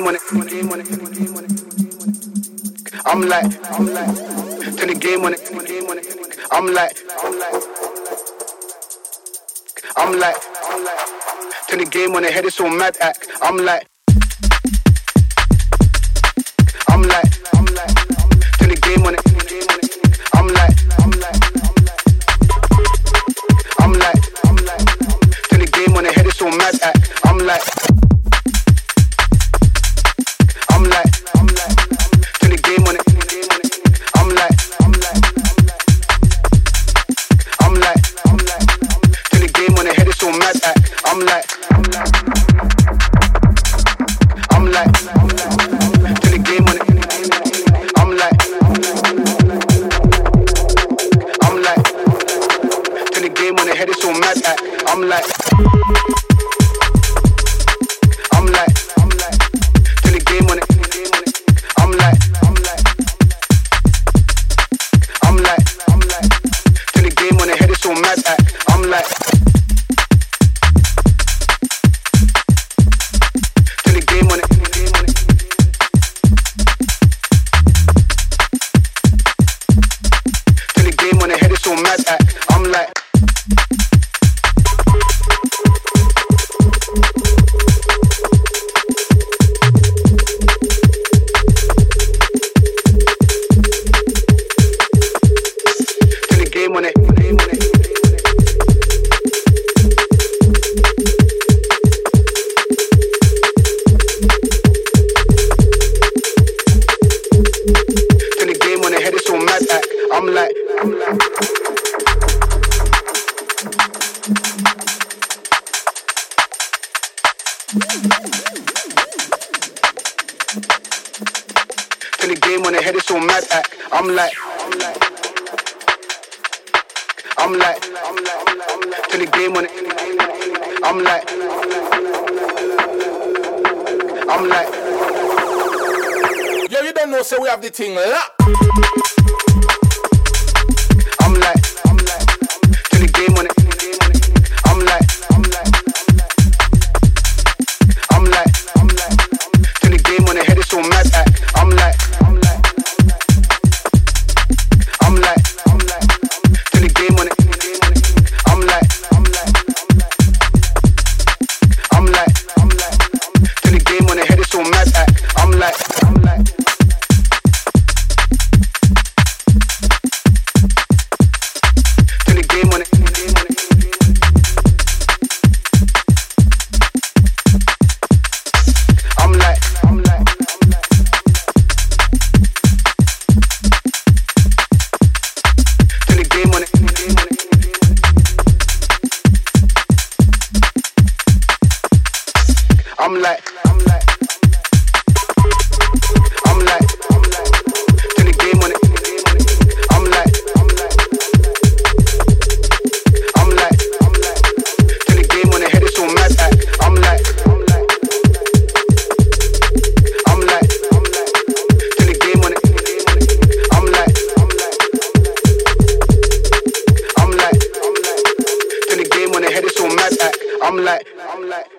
game on it. I'm like, turn the game on it. I'm like, turn the game on it. Head is so mad act. I'm like, turn the game on it. I'm like, turn the game on it. Head is so mad act. I'm like, turn the game on it. I'm like, turn the game on it. Head is so mad act. I'm like, turn the game on it. I'm like, turn the game on it. Head is so mad act. I'm like, turn the game on it. I'm like, turn the game on it. Head is so mad act. I'm like, turn the game on it. Turn the game on it. Head is so mad act. I'm like, turn the game on it. Turn the game on it. Head is so mad act. I'm like, turn the game on it. Head is so mad act. I'm like, turn the game on it. I'm like, Yo, you don't know, so we have the thing locked. I'm like, turn the game on it. I'm like, turn the game on it. Head is so mad act. I'm like, turn the game on it. I'm like, turn the game on it. Head is so mad act. I'm like, turn the game on it. I'm like, turn the game on it. I'm like, turn the game on it. I'm like, turn the game on it. Head is so mad act. I'm like, turn the game on it. I'm like, turn the game on it. Head is so mad act. I'm like.